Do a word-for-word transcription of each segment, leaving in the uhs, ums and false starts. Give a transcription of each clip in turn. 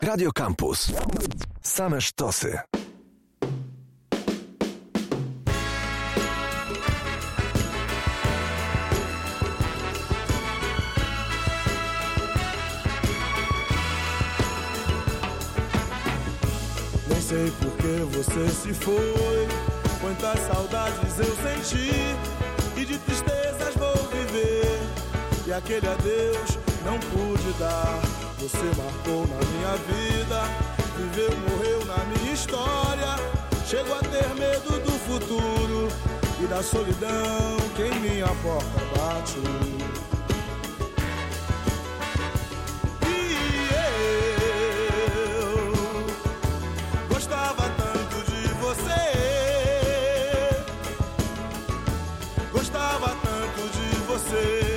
Radio Campus. Same sztosy. Nem sei por que você se foi, quantas saudades eu senti, e de tristezas vou viver, e aquele adeus não pude dar. Você marcou na minha vida, viveu, morreu na minha história. Chego a ter medo do futuro e da solidão que em minha porta bate. E eu gostava tanto de você, gostava tanto de você.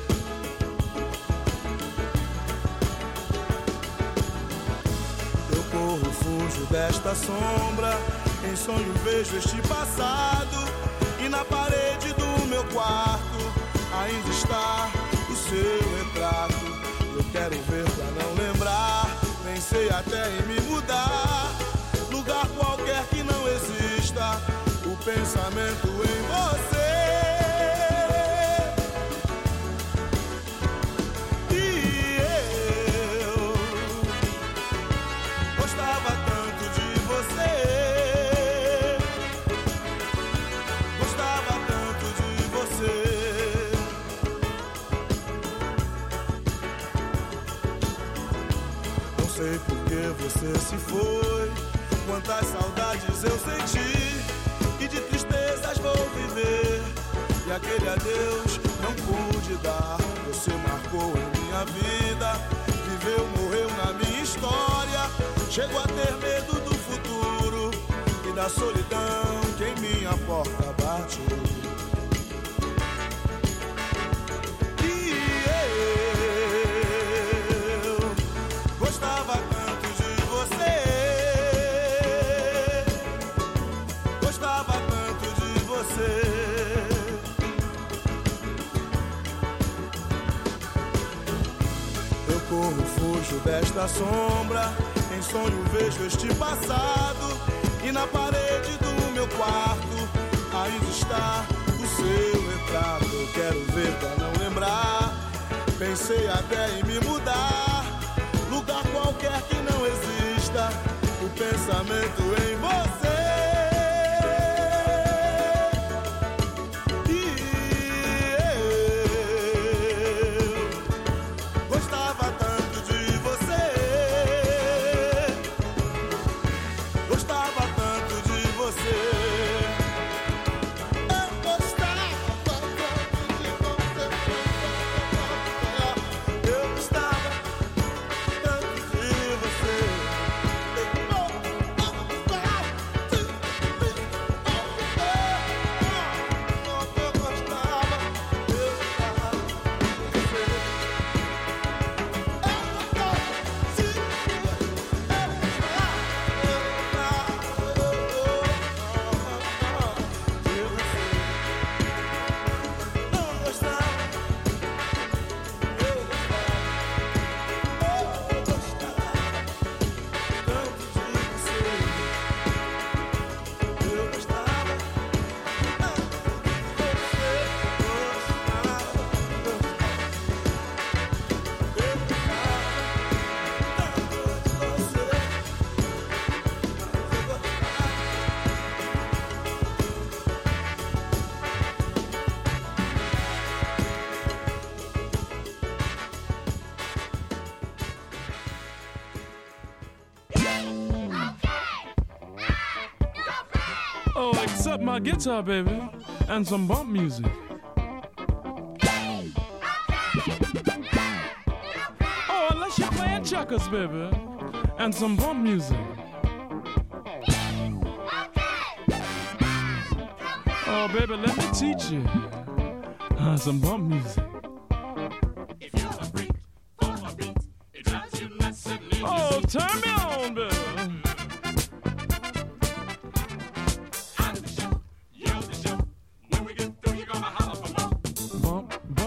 Fujo desta sombra, em sonho vejo este passado, e na parede do meu quarto ainda está o seu retrato. Eu quero ver pra não lembrar, pensei até em me mudar, lugar qualquer que não exista o pensamento em você. Você se foi, quantas saudades eu senti, e de tristezas vou viver, e aquele adeus não pude dar. Você marcou em minha vida, viveu, morreu na minha história. Chego a ter medo do futuro e da solidão que em minha porta bate. E eu gostava tanto, gostava tanto de você. Eu corro, fujo desta sombra, em sonho vejo este passado, e na parede do meu quarto ainda está o seu retrato. Eu quero ver pra não lembrar, pensei até em me mudar, lugar qualquer que não exista o pensamento em você. E eu gostava tanto de você, gostava tanto de você. Eu gostava tanto de você, eu gostava tanto de você. Oh, except my guitar, baby, and some bump music. Oh, unless you're playing checkers, baby, and some bump music. Oh, baby, let me teach you uh, some bump music. Oh, turn me on, baby.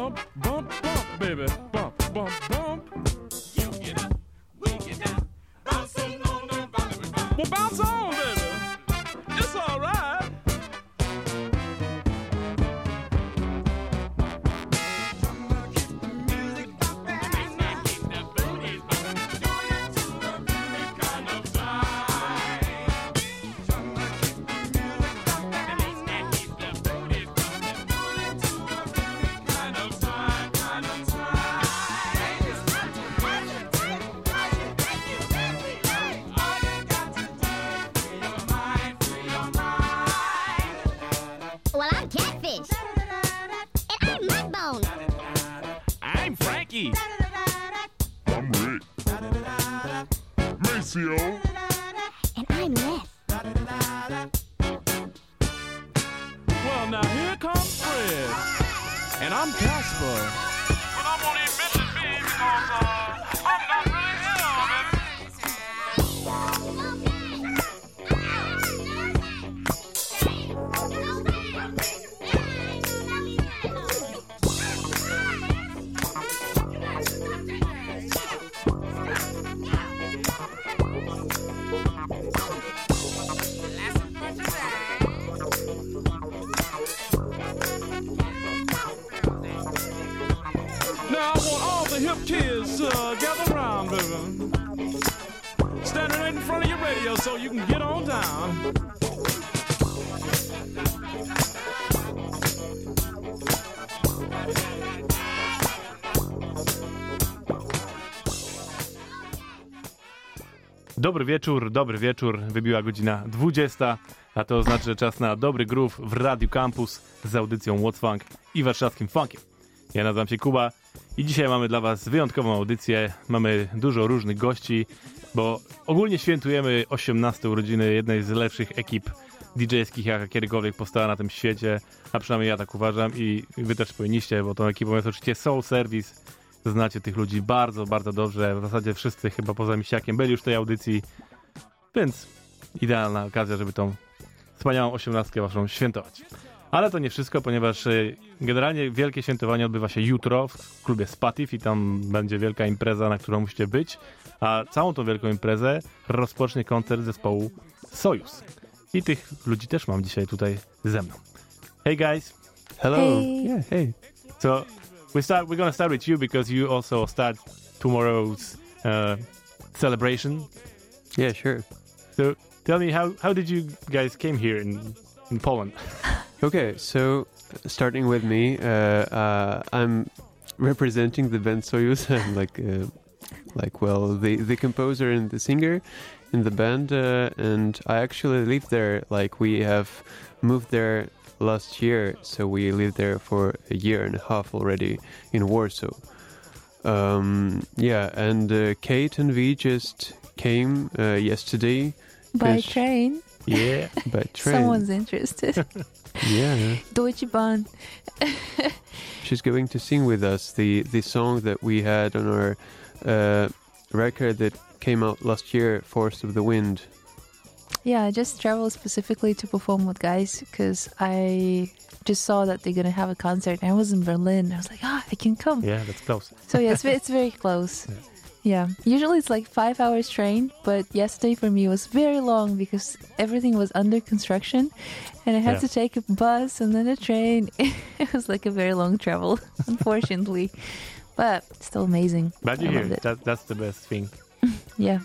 Baby, bump, bump, bump. You get up, we get down. Mauricio. And I'm Les. Well, now here comes Fred. And I'm Casper. But I'm gonna mention me because uh, I'm not really here, baby. Now I want all the hip kids to uh, gather around, baby. Standing right in front of your radio so you can get on down. Dobry wieczór, dobry wieczór. Wybiła godzina dwudziesta, a to oznacza, że czas na dobry groove w Radiu Campus z audycją What's Funk i warszawskim funkiem. Ja nazywam się Kuba i dzisiaj mamy dla was wyjątkową audycję. Mamy dużo różnych gości, bo ogólnie świętujemy osiemnaste urodziny jednej z lepszych ekip D J-skich, jaka kiedykolwiek powstała na tym świecie, a przynajmniej ja tak uważam i wy też powinniście, bo tą ekipą jest oczywiście Soul Service. Znacie tych ludzi bardzo, bardzo dobrze. W zasadzie wszyscy chyba poza Misiakiem byli już w tej audycji, więc idealna okazja, żeby tą wspaniałą osiemnastkę waszą świętować. Ale to nie wszystko, ponieważ generalnie wielkie świętowanie odbywa się jutro w klubie Spatif i tam będzie wielka impreza, na którą musicie być, a całą tą wielką imprezę rozpocznie koncert zespołu Sojus. I tych ludzi też mam dzisiaj tutaj ze mną. Hey guys! Hello! Hey. Yeah, hey. So we start. We're gonna start with you because you also start tomorrow's uh, celebration. Yeah, sure. So tell me, how how did you guys came here in in Poland? Okay, so starting with me, uh, uh, I'm representing the band Soyuz. I'm like, uh, like well, the the composer and the singer in the band, uh, and I actually live there. Like we have moved there last year, so we lived there for a year and a half already in Warsaw. Um, yeah, and uh, Kate and V just came uh, yesterday. By 'cause- train. Yeah. By train. Someone's interested. Yeah. Deutsche Bahn. She's going to sing with us the, the song that we had on our uh, record that came out last year, Force of the Wind. Yeah, I just traveled specifically to perform with guys because I just saw that they're going to have a concert. I was in Berlin. I was like, ah, I can come. Yeah, that's close. So yeah, it's, ve- it's very close. Yeah. Usually it's like five hours train, but yesterday for me was very long because everything was under construction and I had Yeah. to take a bus and then a train. It was like a very long travel, unfortunately. But still amazing. But you're I here. loved it. That, that's the best thing. Yeah.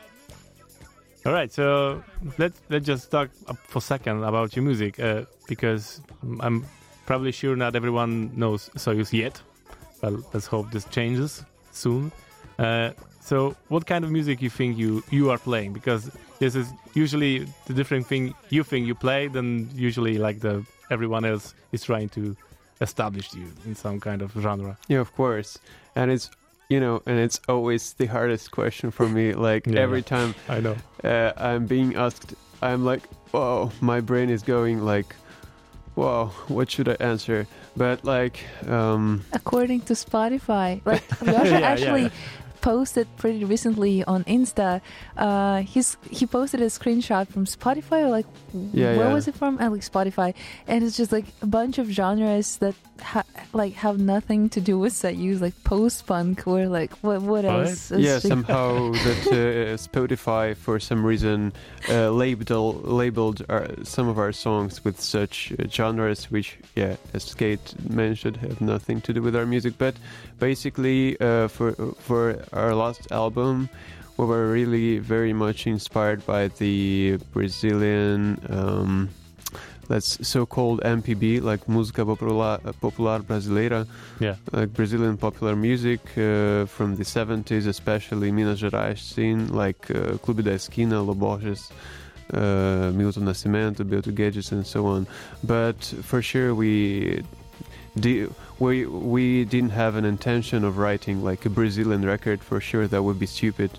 All right, so let's let's just talk up for a second about your music, uh, because I'm probably sure not everyone knows Soyuz yet. Well, let's hope this changes soon. Uh, so, what kind of music you think you you are playing? Because this is usually the different thing you think you play than usually like the everyone else is trying to establish you in some kind of genre. Yeah, of course. And it's, you know, and it's always the hardest question for me. Like Yeah, every yeah. time I know. uh, I'm being asked, I'm like, whoa, my brain is going like, whoa, what should I answer? But like, um, According to Spotify, like Yasha Yeah, yeah, actually yeah. posted pretty recently on Insta. Uh, he's he posted a screenshot from Spotify, or like Yeah, where yeah. was it from? I like Spotify, and it's just like a bunch of genres that ha- like have nothing to do with Soyuz, like post punk or like what what What? else? It's yeah, just- somehow that uh, Spotify for some reason uh, labeled labeled our, some of our songs with such uh, genres, which, yeah, as Kate mentioned, have nothing to do with our music. But basically, uh, for for our last album, we were really very much inspired by the Brazilian. Um, that's so-called M P B, like música popular, popular brasileira, Yeah. like Brazilian popular music uh, from the seventies, especially Minas Gerais scene, like uh, Clube da Esquina, Loborges, uh, Milton Nascimento, Beto Guedes, and so on. But for sure, we di- we we didn't have an intention of writing like a Brazilian record. For sure, that would be stupid.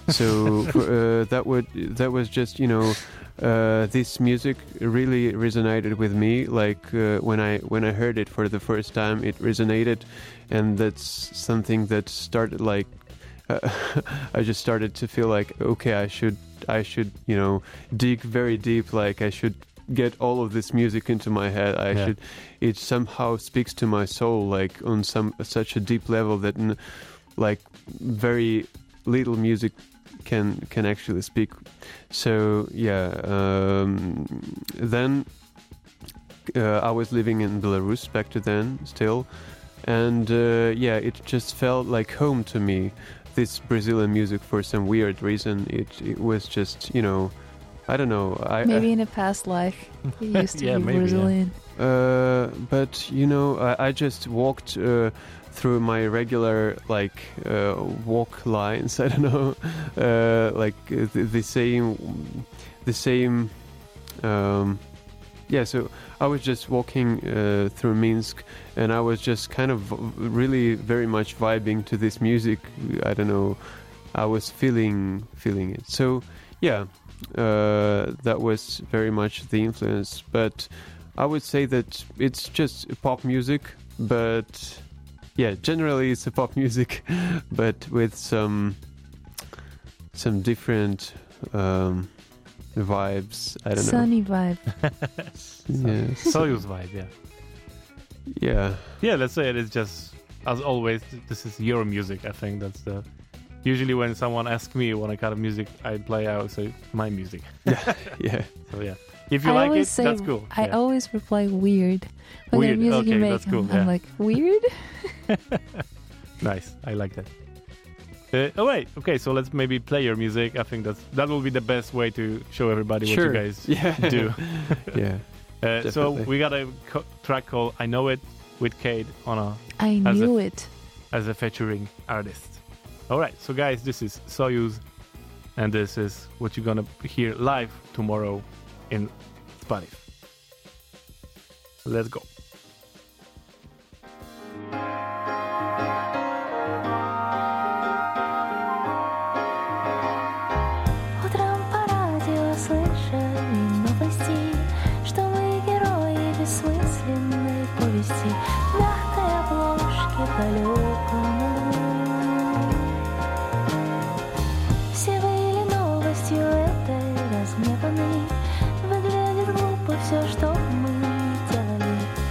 So uh, that would that was just you know. Uh, this music really resonated with me. Like uh, when I when I heard it for the first time, it resonated, and that's something that started like uh, I just started to feel like okay, I should I should you know dig very deep. Like I should get all of this music into my head. I Yeah. should. It somehow speaks to my soul, like on some such a deep level that n- like very little music can can actually speak. So yeah, um, then uh, I was living in Belarus back to then still, and uh, yeah, it just felt like home to me. This Brazilian music, for some weird reason, it it was just you know, I don't know. I Maybe in a past life you used to Yeah, be maybe, yeah. Brazilian. Uh, but you know, I, I just walked uh, through my regular like uh, walk lines. I don't know, uh, like uh, the, the same, the same. Um, yeah, so I was just walking uh, through Minsk, and I was just kind of really very much vibing to this music. I don't know, I was feeling feeling it. So yeah, uh, that was very much the influence, but. I would say that it's just pop music, but yeah, generally it's a pop music, but with some some different um, vibes. I don't Sunny vibe. know. Yes. Soyuz vibe, yeah. Yeah. Yeah, let's say it is just, as always, this is your music. I think that's the... Usually when someone asks me what kind of music I play, I would say my music. Yeah. So yeah. If you I like always it, say, that's cool. I yeah. always reply weird. What Weird, kind of music okay, you make? that's cool, I'm, yeah. I'm like, weird? Nice, I like that. Uh, oh wait, okay, so let's maybe play your music. I think that's that will be the best way to show everybody Sure. what you guys Yeah. do. Yeah. Uh, so Definitely. we got a co- track called "I Know It" with Cade on a I As knew a- it. as a featuring artist. All right, so guys, this is Soyuz, and this is what you're gonna hear live tomorrow in Spotify. Let's go. Утром по радио слышали новости, что мы герои бессмысленной повести, в мягкой обложке по-легкому. Все были новостью этой разгневанной. Выглядит глупо все, что мы делали.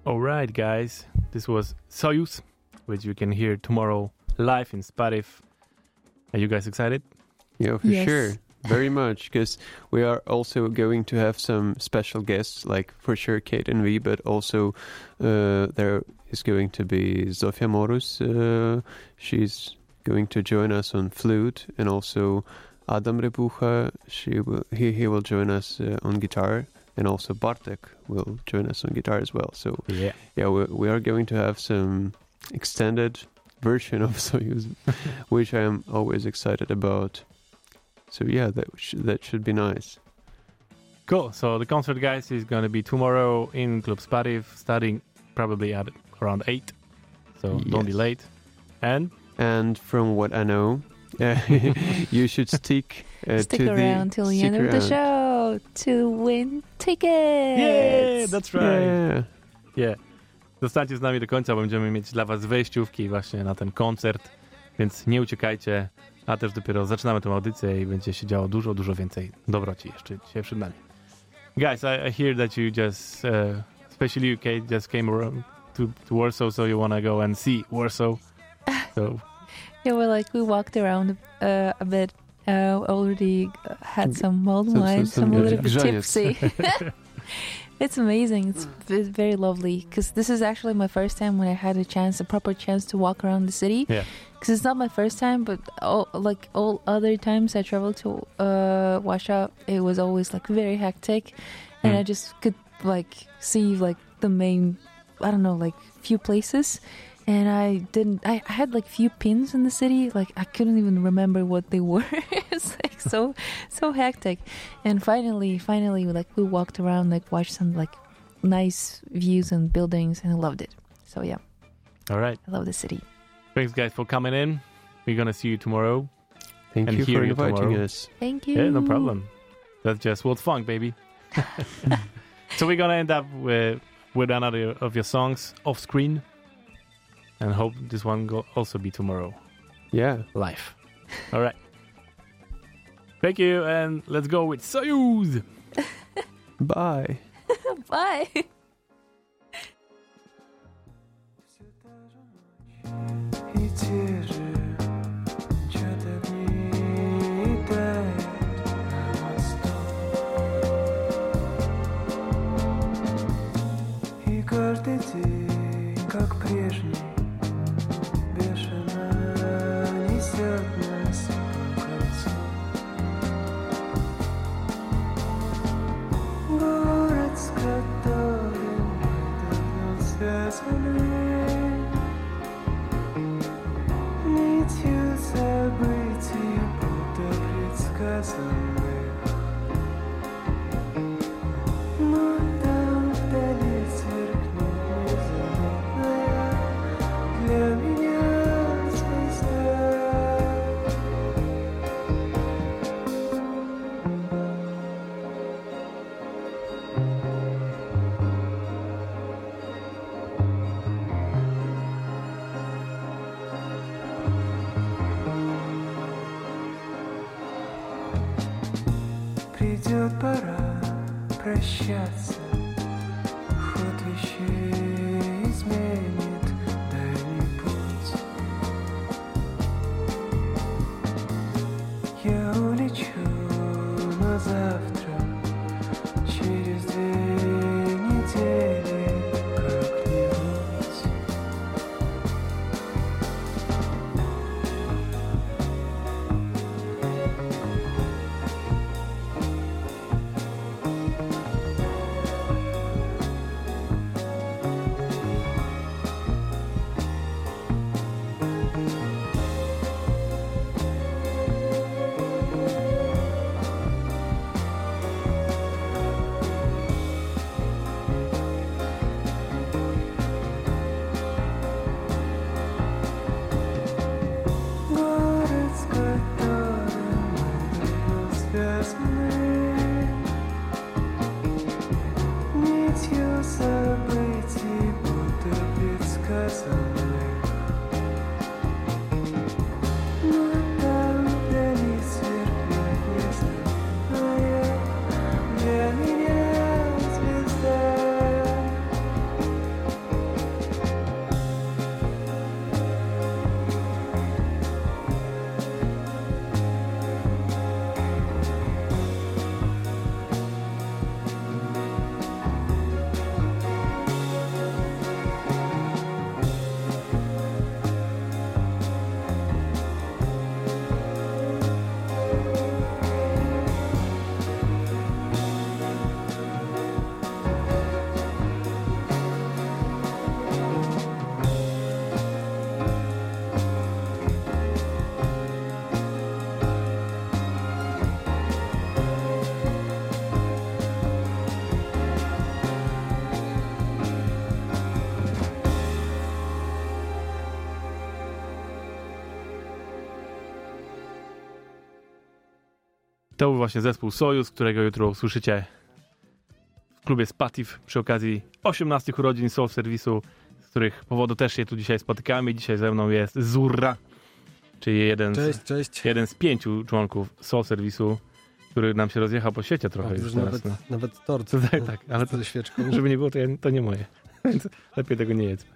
All right, guys. This was Soyuz, which you can hear tomorrow live in Spotify. Are you guys excited? Yeah, for Yes. sure. Very much, because we are also going to have some special guests, like for sure Kate and V, but also uh, there is going to be Zofia Morus. Uh, she's going to join us on flute, and also Adam Rebucha. She will, he, he will join us uh, on guitar, and also Bartek will join us on guitar as well. So Yeah. yeah, we, we are going to have some extended version of Soyuz, which I am always excited about. So yeah, that sh- that should be nice. Cool. So the concert, guys, is going to be tomorrow in Club Spotify, starting probably at around eight. So don't be Yes. late. And And from what I know, uh, you should stick uh, Stick to around the till the stick end of the around. show to win tickets. yeah, that's right. Yeah. Yeah. Zostańcie z nami do końca, bo będziemy mieć dla was wejściówki właśnie na ten koncert, więc nie uciekajcie, a też dopiero zaczynamy tę audycję i będzie się działo dużo, dużo więcej dobroci jeszcze dzisiaj przed nami. Guys, I, I hear that you just, uh, especially you, Kate, just came around to, to Warsaw, so you want to go and see Warsaw. So, Yeah, well, like we walked around uh, a bit. Uh, already had some mulled Some- some- wine, some some a little bit grzaniec. tipsy. It's amazing. It's v- very lovely because this is actually my first time when I had a chance, a proper chance to walk around the city. Yeah. Because it's not my first time, but all, like all other times I traveled to uh, Warsaw, it was always like very hectic, and Mm. I just could like see like the main, I don't know, like few places. And I didn't. I, I had like few pins in the city. Like I couldn't even remember what they were. It's like so, so hectic. And finally, finally, like we walked around, like watched some like nice views and buildings, and I loved it. So yeah, all right. I love the city. Thanks, guys, for coming in. We're going to see you tomorrow. Thank And you hear for you inviting tomorrow. us. Thank you. Yeah, no problem. That's just World Funk, baby. So we're going to end up with, with another of your songs off screen. And hope this one will also be tomorrow Yeah. live. All right. Thank you, and let's go with Soyuz. Bye. Bye. И те же чьи-то дни тает на мосту. И каждый день, как прежний, бешено несет нас по кольцу. Город, с которым мы давно связаны, нитью событий, будто предсказанных. Но там вдали сверкнет незаметная для меня звезда. Придет пора прощаться, ход вещей изменит дальний путь. Я улечу на завтра, через две недели как-нибудь. To był właśnie zespół Sojus, którego jutro usłyszycie w klubie Spatif przy okazji osiemnastych urodzin Soul Service'u, z których powodu też się tu dzisiaj spotykamy. Dzisiaj ze mną jest Zurra, czyli jeden, Cześć, z, cześć. jeden z pięciu członków Soul Service'u, który nam się rozjechał po świecie trochę O, już już teraz. nawet, No. nawet tort. Tak, tak, ale to, ze świeczką. żeby nie było, to, ja, to nie moje. Więc lepiej tego nie jedzmy.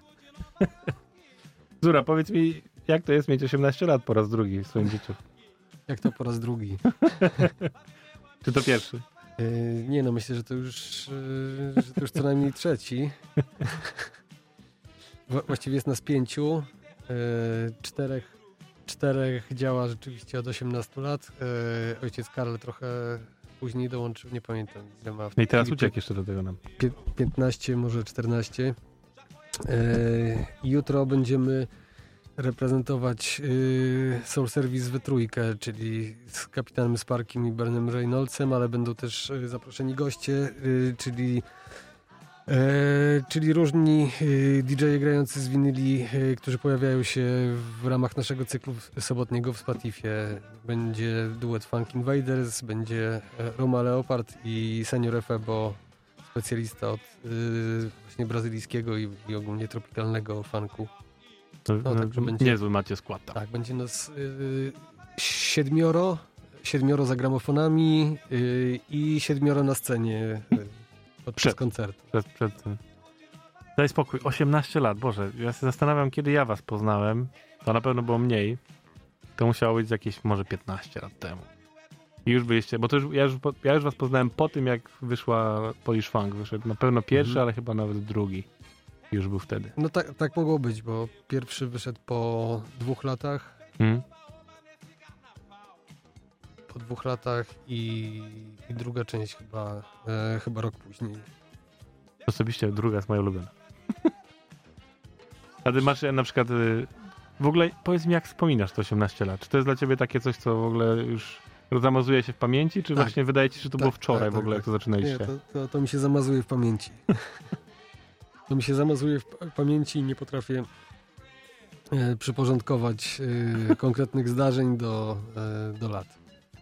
Zura, powiedz mi, jak to jest mieć osiemnaście lat po raz drugi w swoim życiu? Jak to po raz drugi? Czy to pierwszy? Yy, nie no, myślę, że to już, yy, że to już co najmniej trzeci. Wła- właściwie jest nas pięciu. Yy, czterech, czterech działa rzeczywiście od osiemnastu lat. Yy, ojciec Karol trochę później dołączył, nie pamiętam ile ma. W No i teraz chwili, uciekł jeszcze do tego nam. pie- piętnaście, może czternaście. Yy, jutro będziemy reprezentować yy, Soul Service we trójkę, czyli z kapitanem Sparkiem i Bernem Reynoldsem, ale będą też yy, zaproszeni goście, yy, czyli yy, czyli różni yy, D J e grający z winyli, yy, którzy pojawiają się w ramach naszego cyklu sobotniego w Spatifie. Będzie duet Funk Invaders, będzie yy, Roma Leopard i Senior Efebo, specjalista od yy, właśnie brazylijskiego i, i ogólnie tropikalnego funku. To, No, no, także będzie- niezły macie skład tam. Tak, będzie nas yy, siedmioro, siedmioro za gramofonami yy, i siedmioro na scenie yy, podczas Przed. koncertu. Przed, przed tym. Daj spokój, osiemnaście lat, Boże, ja się zastanawiam, kiedy ja was poznałem, to na pewno było mniej, to musiało być jakieś może piętnaście lat temu. I już byliście, bo to już, ja, już, po- ja już was poznałem po tym, jak wyszła Polish Funk, wyszedł na pewno pierwszy, Mhm. ale chyba nawet drugi. Już był wtedy. No tak, tak mogło być, bo pierwszy wyszedł po dwóch latach, Hmm? po dwóch latach i, i druga część chyba, e, chyba rok później. Osobiście druga jest moja ulubiona. A ty masz e, na przykład, y, w ogóle powiedz mi, jak wspominasz te osiemnaście lat? Czy to jest dla ciebie takie coś, co w ogóle już zamazuje się w pamięci, czy Tak. właśnie wydaje ci się, że to Tak, było wczoraj tak, w tak, ogóle, tak. jak to Nie, zaczynaliście? to, to, to mi się zamazuje w pamięci. To mi się zamazuje w pa- pamięci i nie potrafię e, przyporządkować e, konkretnych zdarzeń do, e, do lat.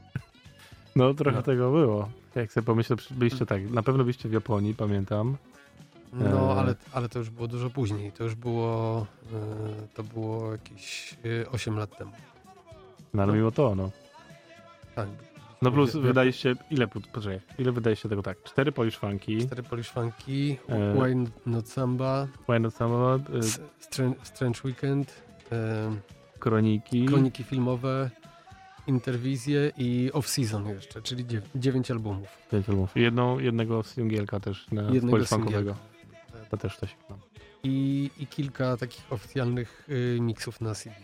No trochę No. tego było. Jak sobie pomyślę, przy- byliście tak, na pewno byliście w Japonii, pamiętam. No, E. ale, ale to już było dużo później. To już było, e, to było jakieś e, osiem lat temu. No ale No. mimo to, no. Tak. No plus Wie- wie- wydaliście, ile, pu- poczekaj, ile wydaliście tego tak? Cztery Polish Funki, Cztery Polish Funky, E. Why Not Samba, Why Not Samochód, y, S- Strange, Strange Weekend, e, Kroniki. kroniki filmowe, interwizje i off-season jeszcze, czyli dziew- dziewięć albumów. pięć albumów. I jedną, jednego singielka też na Jednego Polish Funkowego. singielka. To też coś. No. I, i kilka takich oficjalnych y, miksów na C D.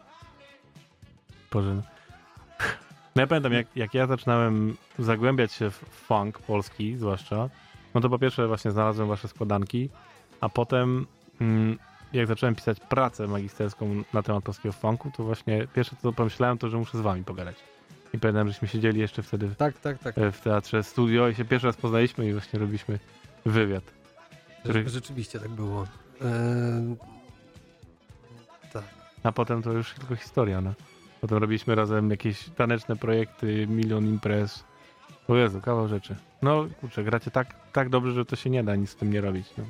Boże. No ja pamiętam, jak, jak ja zaczynałem zagłębiać się w funk polski, zwłaszcza, no to po pierwsze właśnie znalazłem wasze składanki, a potem mm, jak zacząłem pisać pracę magisterską na temat polskiego funku, to właśnie pierwsze co pomyślałem, to że muszę z wami pogadać. I pamiętam, żeśmy siedzieli jeszcze wtedy w, Tak, tak, tak. w teatrze studio i się pierwszy raz poznaliśmy i właśnie robiliśmy wywiad. który- Rzeczywiście tak było. E, tak. A potem to już tylko historia, no. Potem robiliśmy razem jakieś taneczne projekty, milion imprez. O Jezu, kawał rzeczy. No kurczę, gracie tak, tak dobrze, że to się nie da nic z tym nie robić. No.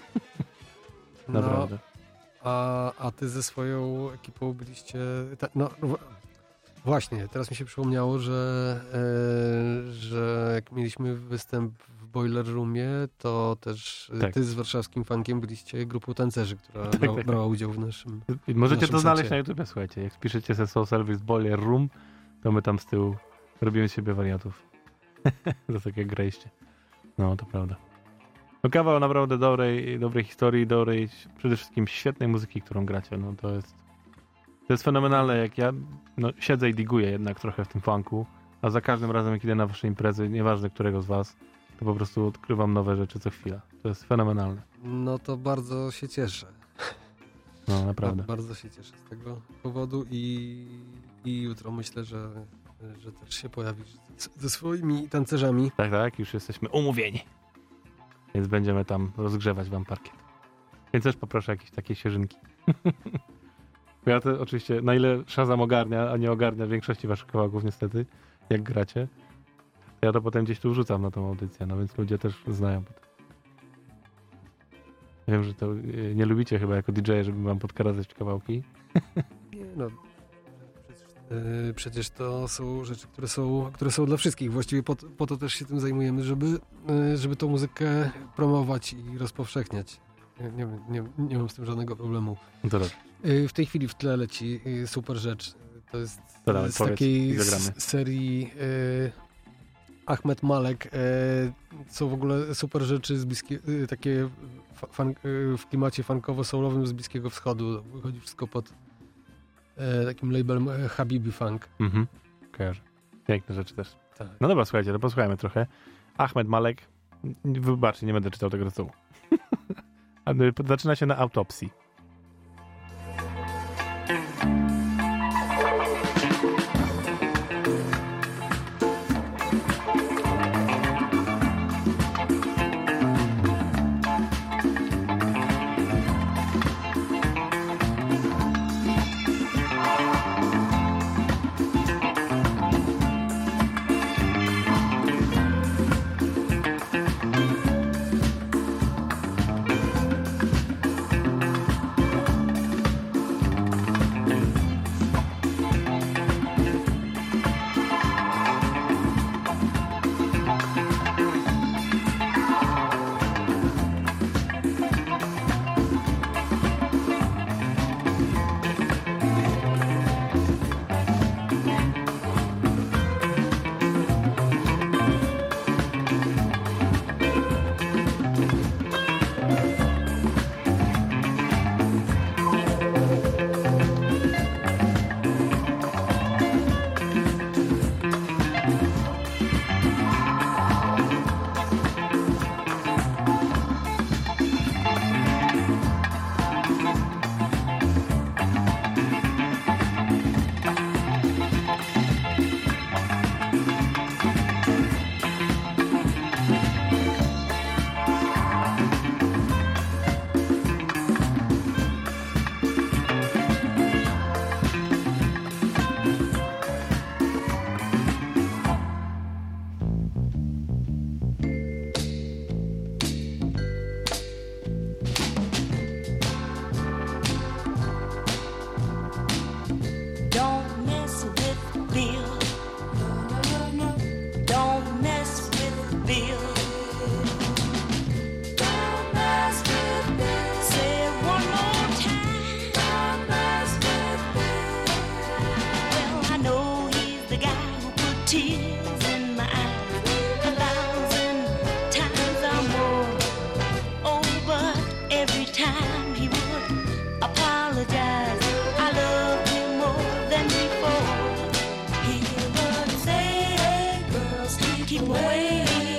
No, Naprawdę. a, a ty ze swoją ekipą byliście... Ta, no, w- właśnie, teraz mi się przypomniało, że, e, że jak mieliśmy występ w Boiler Roomie, to też e, Tak. ty z warszawskim funkiem byliście grupą tancerzy, która Tak, brała, tak. brała udział w naszym... I możecie naszym to znaleźć secie. na YouTube, słuchajcie. Jak piszecie se Soul Service Boiler Room, to my tam z tyłu robimy z siebie wariatów. Za tak jak graliście. No, to prawda. No kawał naprawdę dobrej, dobrej historii, dobrej, przede wszystkim świetnej muzyki, którą gracie. No to jest to jest fenomenalne, jak ja no, siedzę i diguję jednak trochę w tym funku, a za każdym razem jak idę na wasze imprezy, nieważne którego z was, to po prostu odkrywam nowe rzeczy co chwila. To jest fenomenalne. No to bardzo się cieszę. No naprawdę. Ba- Bardzo się cieszę z tego powodu i, i jutro myślę, że, że też się pojawisz z- ze swoimi tancerzami. Tak, tak, już jesteśmy umówieni. Więc będziemy tam rozgrzewać wam parkiet. Więc też poproszę jakieś takie świeżynki. Ja to oczywiście, na ile Shazam ogarnia, a nie ogarnia większości waszych kawałków niestety, jak gracie, Ja to potem gdzieś tu wrzucam na tą audycję, no więc ludzie też znają potem. Wiem, że to y, nie lubicie chyba jako D J, żeby wam podkradać kawałki. Nie, no, przecież, yy, przecież to są rzeczy, które są, które są dla wszystkich. Właściwie po, po to też się tym zajmujemy, żeby, yy, żeby tą muzykę promować i rozpowszechniać. Nie, nie, nie, nie mam z tym żadnego problemu. No to dobrze. Yy, w tej chwili w tle leci yy, super rzecz. To jest To dawaj, z powiedz takiej i zagramy. s- serii yy, Ahmed Malek. Yy, są w ogóle super rzeczy z bliskie, yy, takie fa- fan, yy, w klimacie funkowo-soulowym z Bliskiego Wschodu. Wychodzi wszystko pod yy, takim labelem yy, Habibi Funk. Mhm. Kojarzę. Piękne rzeczy też. Tak. No dobra, słuchajcie, to posłuchajmy trochę. Ahmed Malek. Wybaczcie, nie będę czytał tego tytułu. Ale zaczyna się na autopsji. Don't mess with Bill. Don't mess with Bill. Don't mess with Bill. Say it one more time. Don't mess with Bill. Well, I know he's the guy who put tears in my eyes a thousand times or more. Oh, but every time he would apologize, I loved him more than before. He would say, hey, girls, keep away.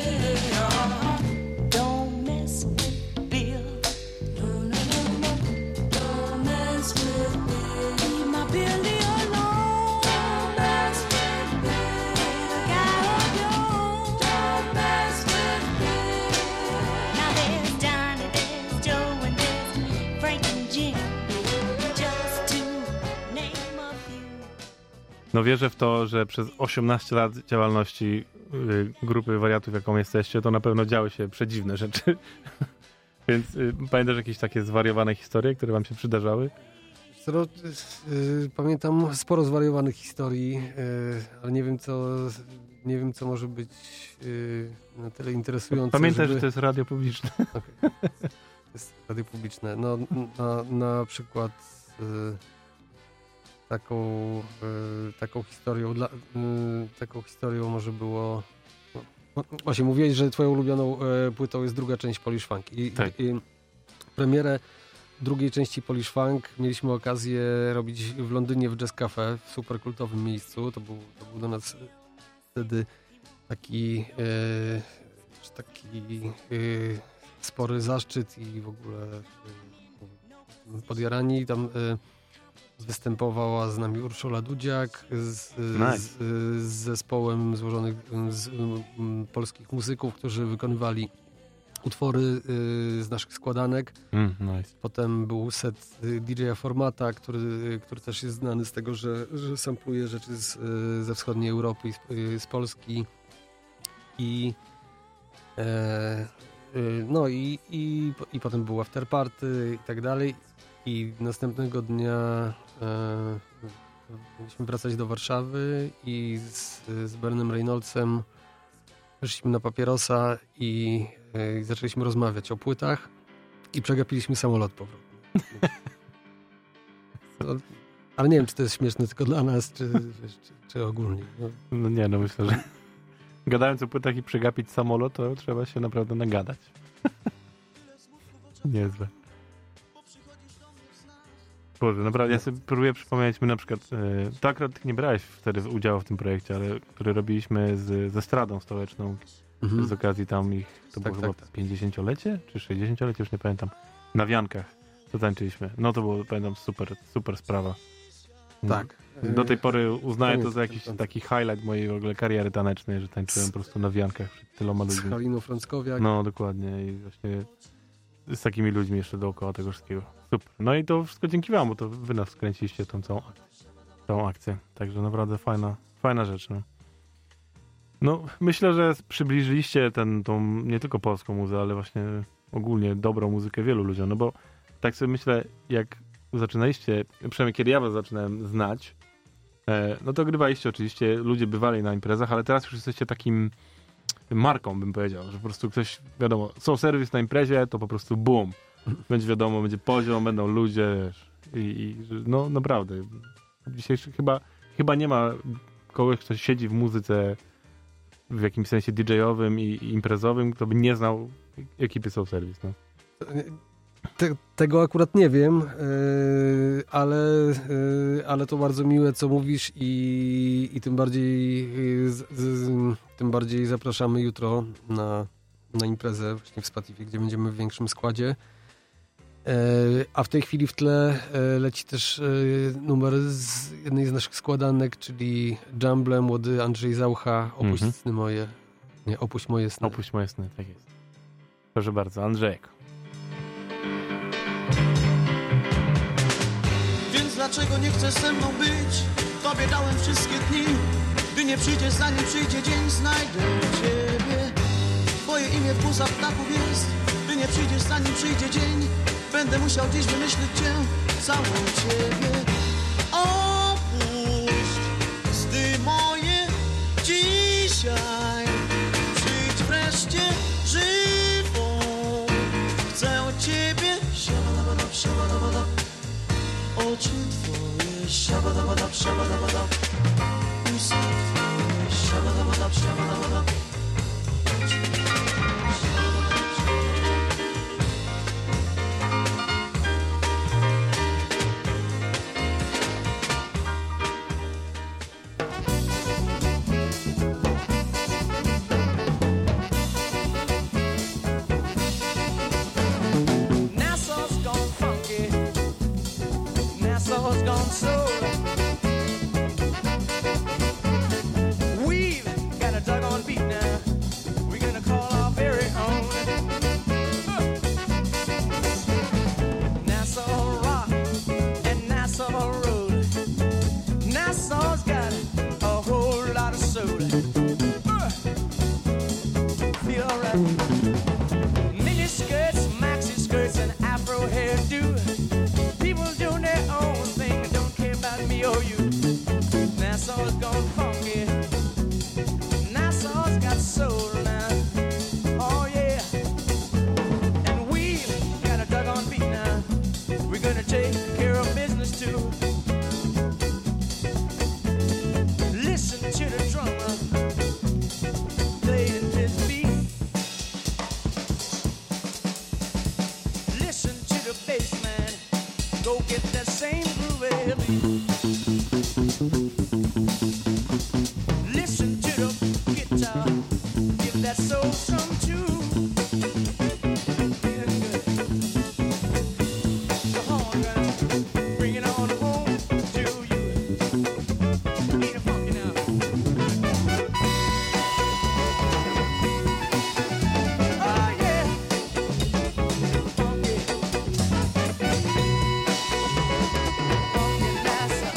Don't mess with Bill. No, no, no, no. Don't mess with Bill. Leave my Billy alone. Don't mess with Bill. The guy of yours. Don't mess with Bill. Now there's Johnny, there's Joe, and there's Frank and Jim. Just to name a few. No wierzę w to, że przez osiemnaście lat działalności y, grupy wariatów, jaką jesteście, to na pewno działy się przedziwne rzeczy. Więc y, pamiętasz jakieś takie zwariowane historie, które wam się przydarzały? Co, y, y, pamiętam sporo zwariowanych historii, y, ale nie wiem co, nie wiem co może być y, na tyle interesujące. Pamiętaj, żeby... że to jest radio publiczne. Okay. To jest radio publiczne. No, na, na przykład y, taką, y, taką historią dla, y, taką historią może było no, właśnie mówiłeś, że twoją ulubioną y, płytą jest druga część Polish Funk i, Tak. i premierę drugiej części Polish Funk mieliśmy okazję robić w Londynie w Jazz Cafe, w super kultowym miejscu. To był, to był do nas wtedy taki y, też taki y, spory zaszczyt i w ogóle y, podjarani. Tam y, występowała z nami Urszula Dudziak z, Nice. z, z zespołem złożonych z um, polskich muzyków, którzy wykonywali utwory y, z naszych składanek. Mm, nice. Potem był set y, D J Formata, który, y, który też jest znany z tego, że, że sampluje rzeczy z, y, ze wschodniej Europy i z, y, z Polski. i e, y, no i, i, i potem był after party i tak dalej i następnego dnia e, mieliśmy wracać do Warszawy i z, z Bernem Reynoldsem weszliśmy na papierosa i, e, i zaczęliśmy rozmawiać o płytach i przegapiliśmy samolot powrotny. No, ale nie wiem, czy to jest śmieszne tylko dla nas, czy, wiesz, czy, czy ogólnie. No. No nie, no myślę, że gadając o płytach i przegapić samolot, to trzeba się naprawdę nagadać. Niezłe. Boże, naprawdę, ja sobie próbuję przypomnieć, my na przykład, e, to akurat ty nie brałeś wtedy udziału w tym projekcie, ale który robiliśmy z, ze Stradą Stołeczną, Mhm. z okazji tam ich, to Tak, było tak, chyba tak. pięćdziesięciolecie, czy sześćdziesięciolecie, już nie pamiętam, na Wiankach, to tańczyliśmy. No to było, pamiętam, super, super sprawa. Tak. Do tej pory uznaję to Pamiętam, za jakiś pamiętam. taki highlight mojej w ogóle kariery tanecznej, że tańczyłem po prostu na Wiankach przed tyloma Z ludźmi. Haliną Frąckowiak. No, dokładnie. I właśnie z takimi ludźmi jeszcze dookoła tego wszystkiego. Super. No i to wszystko dzięki wam, bo to wy nas skręciliście w tą całą, całą akcję. Także naprawdę fajna, fajna rzecz. No. no, myślę, że przybliżyliście ten, tą nie tylko polską muzę, ale właśnie ogólnie dobrą muzykę wielu ludziom. No bo tak sobie myślę, jak zaczynaliście, przynajmniej kiedy ja was zaczynałem znać, e, no to grywaliście oczywiście, ludzie bywali na imprezach, ale teraz już jesteście takim marką, bym powiedział, że po prostu ktoś, wiadomo, są serwis na imprezie, to po prostu boom. Będzie wiadomo, będzie poziom, będą ludzie, wiesz, i, i no naprawdę. Dzisiaj chyba, chyba nie ma kogoś, kto siedzi w muzyce w jakimś sensie didżejowym i, i imprezowym, kto by nie znał ekipy Soul Service, no. Te, tego akurat nie wiem, yy, ale, yy, ale to bardzo miłe, co mówisz i, i tym bardziej yy, z, z, tym bardziej zapraszamy jutro na, na imprezę właśnie w Spotify, gdzie będziemy w większym składzie. Yy, a w tej chwili w tle yy, leci też yy, numer z jednej z naszych składanek, czyli Jumble młody Andrzej Zaucha, Opuść Mhm. sny moje. Nie, Opuść moje sny. Opuść moje sny, tak jest. Proszę bardzo, Andrzejek. Więc dlaczego nie chcesz ze mną być? Tobie dałem wszystkie dni. Gdy nie przyjdziesz, zanim przyjdzie dzień, znajdę ciebie. Twoje imię w pulsach ptaków jest. Gdy nie przyjdziesz, zanim przyjdzie dzień, będę musiał dziś wymyślić cię, całą ciebie. Opuść sny moje dzisiaj. Przyjdź wreszcie żywą. Chcę ciebie. Siabadabadab, siabadabadab. Oczy twoje, siabadabadab, siabadabadab. Usta twoje, siabadabadab, siabadabadab. Oczy twoje, siabadabadab, siabadabadab. Nassau's gone funky. Nassau's gone soul. We've got a doggone beat now. We're gonna call our very own. Nassau rock and Nassau roll. Nassau's got a whole lot of soul. Feel alright. Mini skirts, maxi skirts, and afro hairdo. People doing their own thing and don't care about me or you. Nassau's gone funky. Nassau's got soul now. Oh yeah. And we've got a doggone beat now. We're gonna take care of business too. Listen to the drummer playing his beat. Listen to the bass man. Go get that same groovy beat. Listen to the guitar. Give that soul some too. Yeah, good. The horn gonna bring it on home to you. Ain't it funky now? Oh yeah. Funky. Funky Nassau.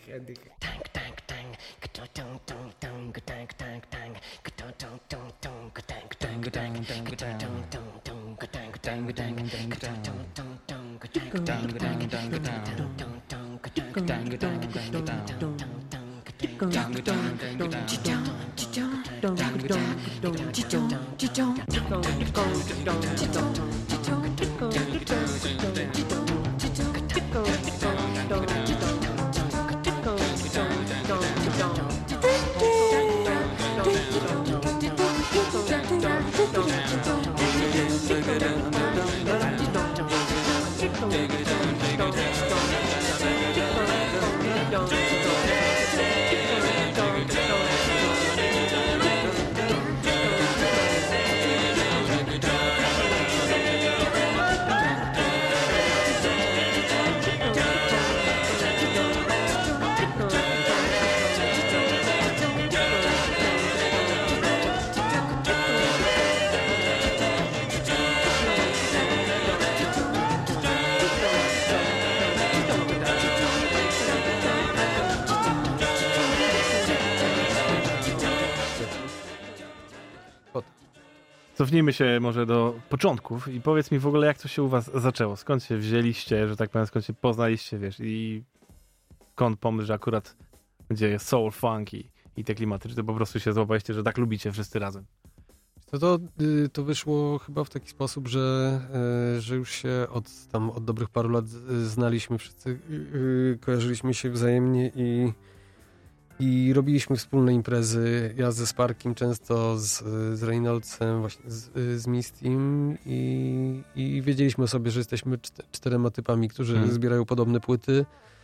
Cofnijmy się może do początków i powiedz mi w ogóle, jak to się u was zaczęło? Skąd się wzięliście, że tak powiem, skąd się poznaliście, wiesz, i skąd pomysł, że akurat będzie jest soul, funk i, i te klimaty? Czy to po prostu się złapaliście, że tak lubicie wszyscy razem? To, to, y, to wyszło chyba w taki sposób, że, y, że już się od, tam, od dobrych paru lat y, znaliśmy wszyscy, y, y, kojarzyliśmy się wzajemnie i, i robiliśmy wspólne imprezy. Ja ze Sparkiem często, z, z Reynoldsem, właśnie z, z Mistym i, i wiedzieliśmy o sobie, że jesteśmy czter, czterema typami, którzy hmm. zbierają podobne płyty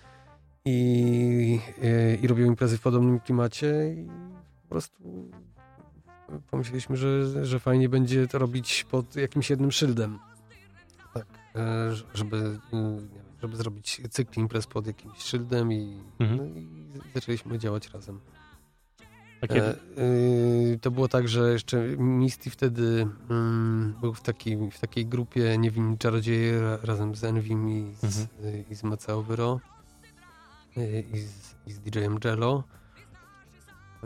i, y, i robią imprezy w podobnym klimacie i po prostu pomyśleliśmy, że, że fajnie będzie to robić pod jakimś jednym szyldem. Tak, żeby, żeby zrobić cykl imprez pod jakimś szyldem i, mhm. no i zaczęliśmy działać razem. E, y, to było tak, że jeszcze Misty wtedy mm, był w takiej, w takiej grupie Niewinni Czarodzieje ra, razem z Envim i z, mhm. y, i z Maceo Vyro y, i z, i z D J-em Jello. Y,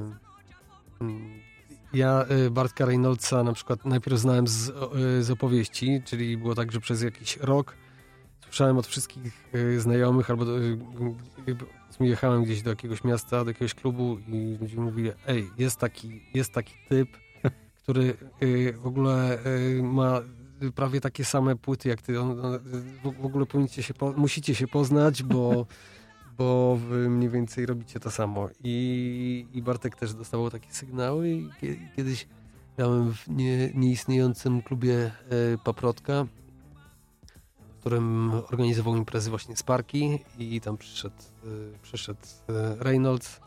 y, Ja Bartka Reynoldsa na przykład najpierw znałem z, z opowieści, czyli było tak, że przez jakiś rok słyszałem od wszystkich znajomych, albo do, jechałem gdzieś do jakiegoś miasta, do jakiegoś klubu i ludzie mówili, ej, jest taki, jest taki typ, który w ogóle ma prawie takie same płyty jak ty. On, on, w ogóle powinniście się po, musicie się poznać, bo bo wy mniej więcej robicie to samo. I, i Bartek też dostawał takie sygnały i kiedyś grałem w nie, nieistniejącym klubie e, Paprotka, w którym organizował imprezy właśnie Sparki i tam przyszedł, e, przyszedł e, Reynolds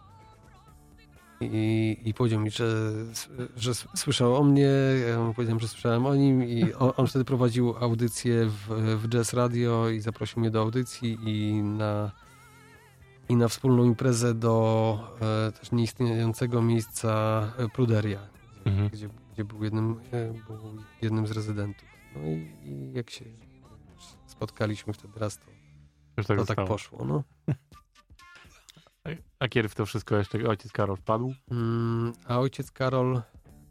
i, i powiedział mi, że, że słyszał o mnie, ja mu powiedziałem, że słyszałem o nim i on, on wtedy prowadził audycję w, w Jazz Radio i zaprosił mnie do audycji i na i na wspólną imprezę do e, też nieistniejącego miejsca e, Pruderia, mhm. gdzie, gdzie był, jednym, e, był jednym z rezydentów. No i, i jak się spotkaliśmy wtedy raz, to, tak, to tak poszło. No. A kiedy w to wszystko jeszcze ojciec Karol wpadł? Mm, a ojciec Karol...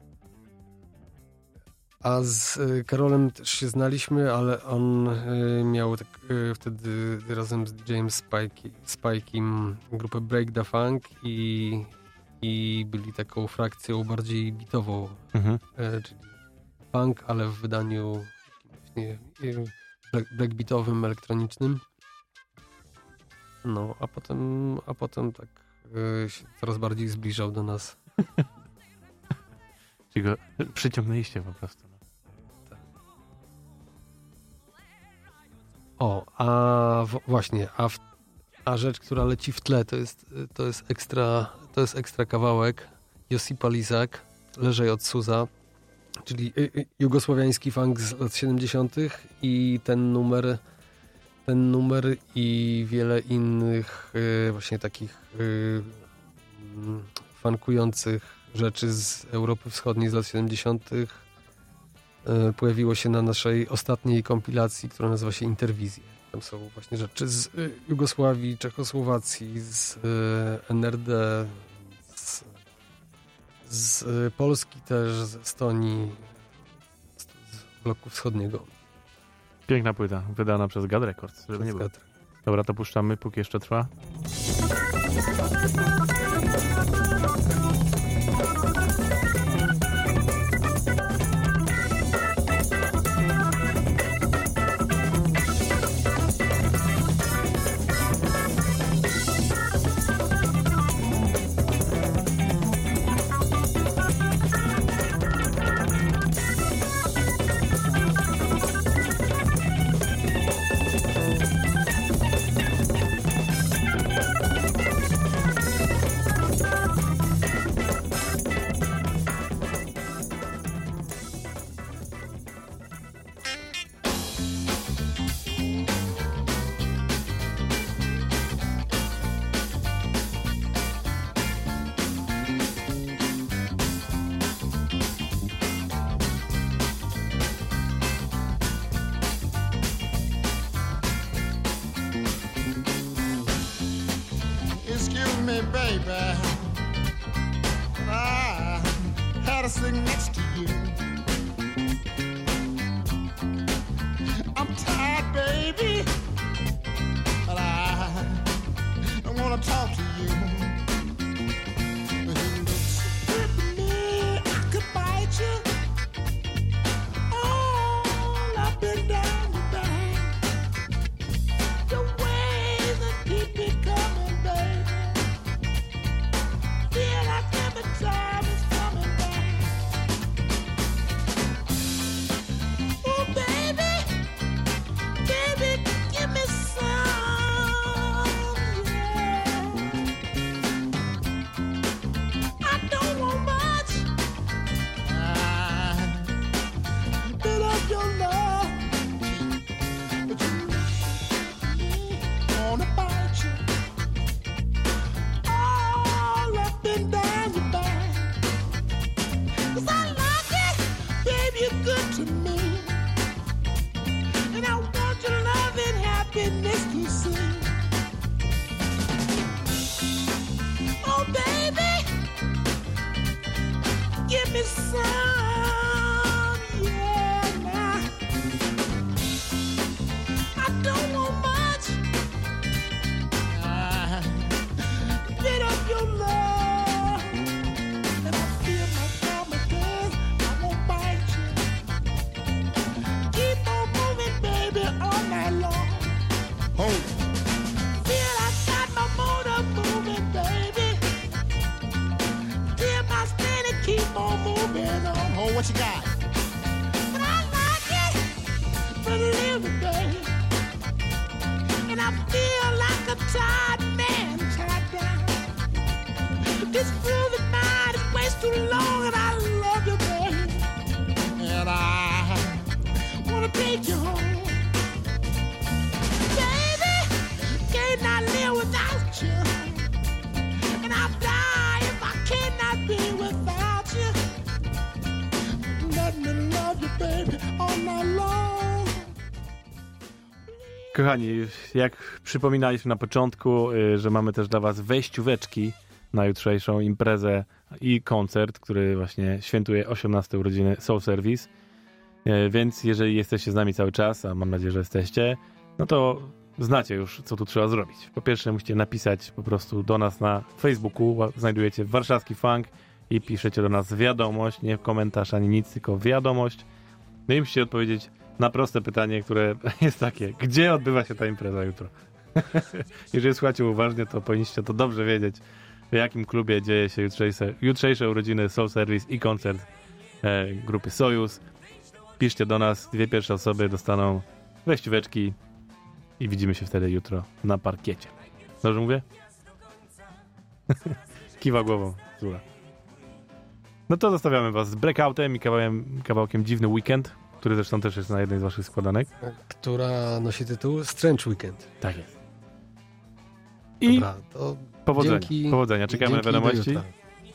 A z y, Karolem też się znaliśmy, ale on y, miał tak, y, wtedy razem z D J-em Spike, Spike'im grupę Break the Funk i, i byli taką frakcją bardziej bitową, mhm. y, czyli funk, ale w wydaniu właśnie y, black, blackbeatowym, elektronicznym. No, a potem, a potem tak y, się coraz bardziej zbliżał do nas. Czyli go przyciągnęliście po prostu. No. Tak. O, a w, właśnie, a, w, a rzecz, która leci w tle, to jest, to jest ekstra, to jest ekstra kawałek. Josipa Lizak, Leżej od Suza, czyli y, y, jugosłowiański funk z lat siedemdziesiątych i ten numer, ten numer i wiele innych y, właśnie takich y, y, funkujących rzeczy z Europy Wschodniej z lat siedemdziesiątych pojawiło się na naszej ostatniej kompilacji, która nazywa się Interwizje. Tam są właśnie rzeczy z y, Jugosławii, Czechosłowacji, z y, N R D, z, z y, Polski też, z Estonii, z, z bloku wschodniego. Piękna płyta, wydana przez God Records, żeby nie było. Dobra, to puszczamy, póki jeszcze trwa. Excuse me, baby, I had to sit next to you. I'm tired, baby, but I don't want to talk to you. But you look so good to me, I could bite you all up and down your back. The way that keep me coming, baby. Feel like every time it's coming back. Oh, baby, baby, give me some, yeah. I don't want much. I build up your love, but you wanna bite you all up and down your back. 'Cause I like it, baby, you're good to me, and I want your love and happiness to see. Oh, baby, give me some, yeah, now. I don't want much. I get up your love, and I feel my promises. I won't bite you. Keep on moving, baby, all night long. Hold. Feel I got my motor moving, baby. Feel my steady keep on moving on. Hold, what you got? But I like it, but live it, baby. And I feel like a tired man tied down. This groovy night is way too long, and I love you, baby. And I wanna take you home, baby. Can't I live without you? And I'll die if I cannot be without you. Let me love you, baby, all night long. Kochani, jak przypominaliśmy na początku, y, że mamy też dla was wejścióweczki na jutrzejszą imprezę i koncert, który właśnie świętuje osiemnaste urodziny Soul Service. Y, Więc jeżeli jesteście z nami cały czas, a mam nadzieję, że jesteście, no to znacie już, co tu trzeba zrobić. Po pierwsze musicie napisać po prostu do nas na Facebooku, ła- znajdujecie warszawski funk i piszecie do nas wiadomość, nie komentarz ani nic, tylko wiadomość. No i musicie odpowiedzieć na proste pytanie, które jest takie: gdzie odbywa się ta impreza jutro? Jeżeli słuchacie uważnie, to powinniście to dobrze wiedzieć, w jakim klubie dzieje się jutrzejsze, jutrzejsze urodziny Soul Service i koncert e, grupy Sojus. Piszcie do nas, dwie pierwsze osoby dostaną wejścióweczki i widzimy się wtedy jutro na parkiecie. Dobrze mówię? Kiwa głową, Zula. No to zostawiamy was z Breakoutem i kawałkiem, kawałkiem Dziwny Weekend, który zresztą też jest na jednej z waszych składanek. Która nosi tytuł Strange Weekend. Tak jest. I Dobra, to powodzenia, dzięki, powodzenia. Czekamy na dzięki, do wiadomości. jutra.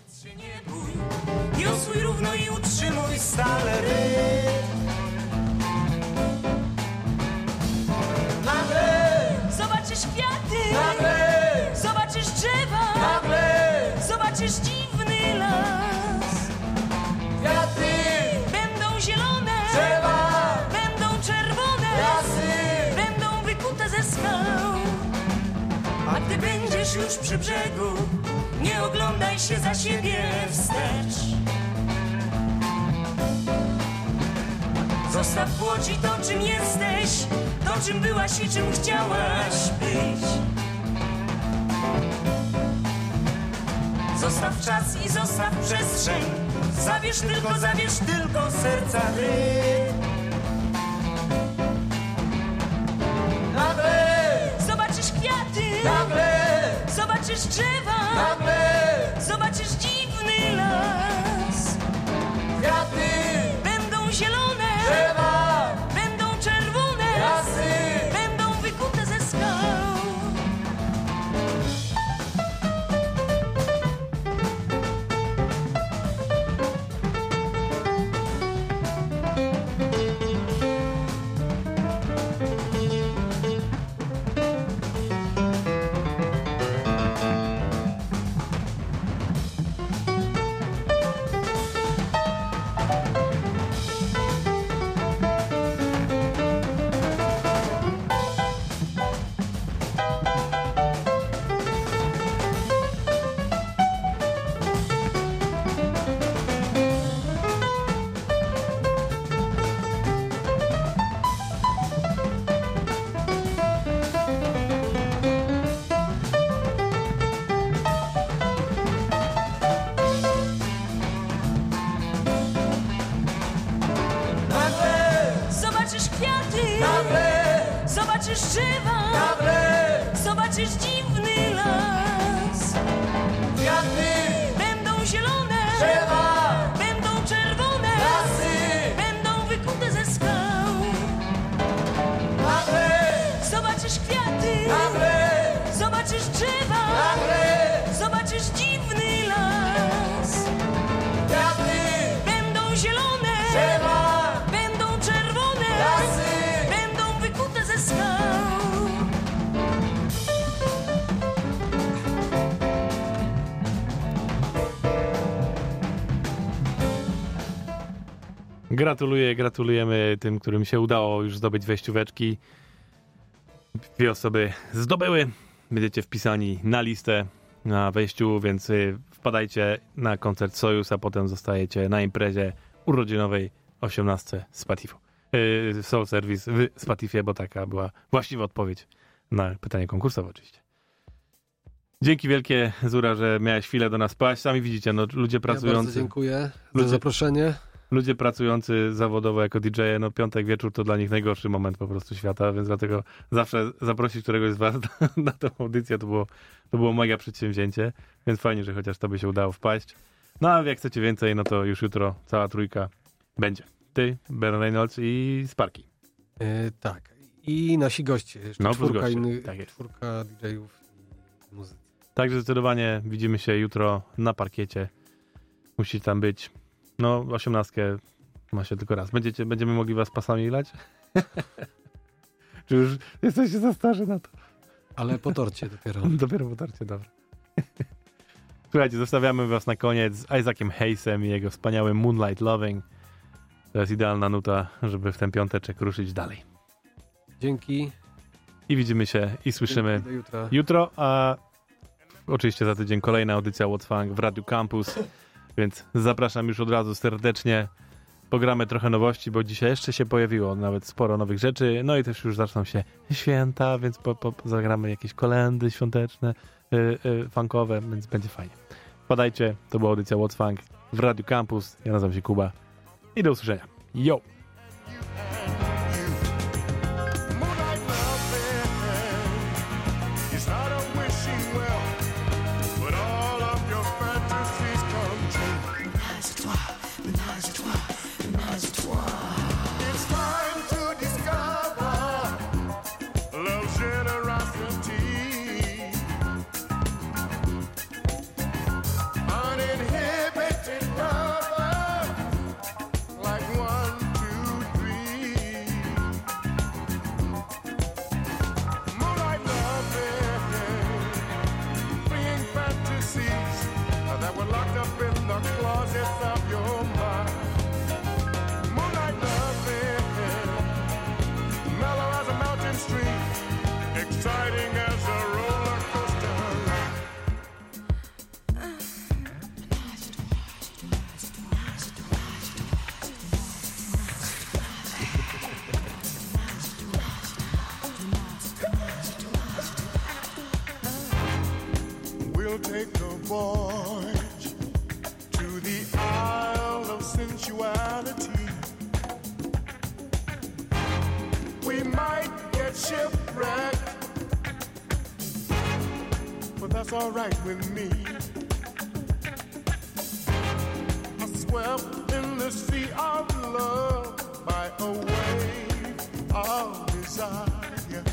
Niosły równo i utrzymuj stale rytm. Nagle jesteś już przy brzegu, nie oglądaj się za siebie wstecz. Zostaw w łodzi to, czym jesteś, to, czym byłaś i czym chciałaś być. Zostaw czas i zostaw przestrzeń, zabierz tylko, zabierz tylko serca rytm. Nagle zobaczysz kwiaty, nagle zobaczysz drzewa, nagle zobaczysz dziwny las. Kwiaty będą zielone, drzewa będą czerwone, lasy będą wykute ze skał. Zobaczysz kwiaty, nagle zobaczysz drzewa, nagle zobaczysz dziwny las. Kwiaty będą zielone, drzewa będą czerwone, lasy będą wykute ze skał. Nagle zobaczysz kwiaty, nagle zobaczysz drzewa, nagle zobaczysz dziwny las. Kwiaty będą zielone, drzewa będą wykute ze skał. Gratuluję, gratulujemy tym, którym się udało już zdobyć wejścióweczki. Dwie osoby zdobyły. Będziecie wpisani na listę na wejściu, więc wpadajcie na koncert Sojus, a potem zostajecie na imprezie urodzinowej osiemnastce Spatify. Soul Service w Spotify, bo taka była właściwa odpowiedź na pytanie konkursowe oczywiście. Dzięki wielkie, Zura, że miałeś chwilę do nas paść. Sami widzicie, no ludzie pracujący... Ja bardzo dziękuję ludzie, za zaproszenie. Ludzie pracujący zawodowo jako D J, no piątek wieczór to dla nich najgorszy moment po prostu świata, więc dlatego zawsze zaprosić któregoś z was na, na tę audycję to było, to było mega przedsięwzięcie, więc fajnie, że chociaż tobie się udało wpaść. No a jak chcecie więcej, no to już jutro cała trójka będzie. Ty, Ben Reynolds i Sparky. E, tak. I nasi goście. Jeszcze no, czwórka, goście. innych, Tak jest. czwórka D J-ów i muzycy. Także zdecydowanie widzimy się jutro na parkiecie. Musi tam być. No, osiemnastkę ma się tylko raz. Będziecie, będziemy mogli was pasami lać? Czy już jesteście za starzy na to? Ale po torcie dopiero. Dopiero po torcie, dobra. Słuchajcie, zostawiamy was na koniec z Isaaciem Hayesem i jego wspaniałym Moonlight Loving. To jest idealna nuta, żeby w ten piąteczek ruszyć dalej. Dzięki. I widzimy się i słyszymy do jutra. jutro, a oczywiście za tydzień kolejna audycja What's Funk w Radiu Campus, więc zapraszam już od razu serdecznie. Pogramy trochę nowości, bo dzisiaj jeszcze się pojawiło nawet sporo nowych rzeczy, no i też już zaczną się święta, więc po, po, zagramy jakieś kolędy świąteczne, yy, yy, funkowe, więc będzie fajnie. Wpadajcie, to była audycja What's Funk w Radiu Campus. Ja nazywam się Kuba i do usłyszenia. Yo! Uninhibited lover, like one, two, three. that's alright with me. I swept in the sea of love by a wave of desire.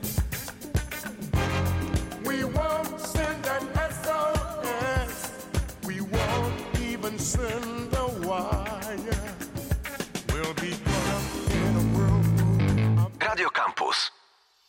We won't send an S O S, we won't even send